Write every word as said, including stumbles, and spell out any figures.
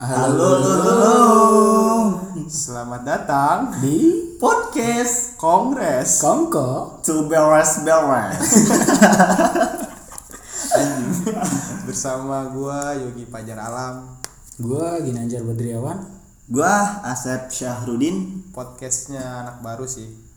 Halo, halo, halo. Selamat datang Di podcast Kongres Kongko To beres beres. bersama gua Yogi Fajar Alam. Gua Ginanjar Badriawan. Gua Asep Syahrudin. Podcastnya anak baru sih.